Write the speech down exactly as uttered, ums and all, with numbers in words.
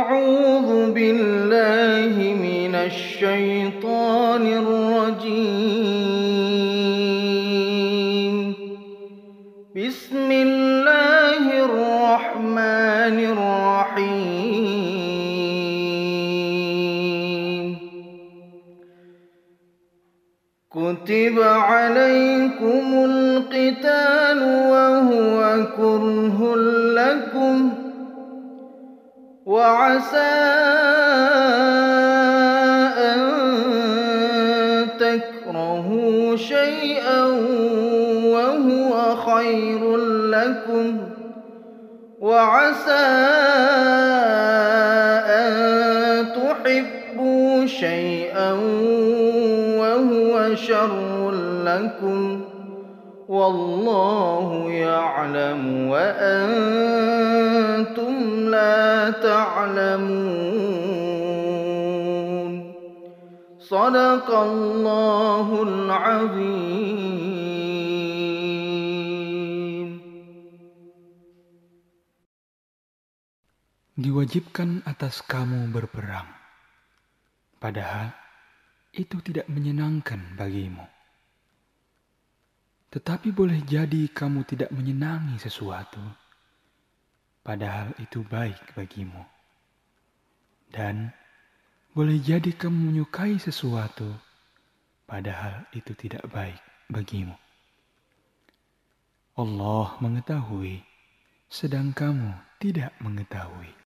أعوذ بالله من الشيطان الرجيم. بسم الله الرحمن الرحيم. كتب عليكم القتال وهو كره لكم وعسى أن تكرهوا شيئا وهو خير لكم وعسى أن تحبوا شيئا وهو شر لكم والله يعلم وأنتم لا تعلمون. صدق الله العظيم. Diwajibkan atas kamu berperang, padahal itu tidak menyenangkan bagimu. Tetapi boleh jadi kamu tidak menyenangi sesuatu, padahal itu baik bagimu. Dan boleh jadi kamu menyukai sesuatu, padahal itu tidak baik bagimu. Allah mengetahui, sedang kamu tidak mengetahui.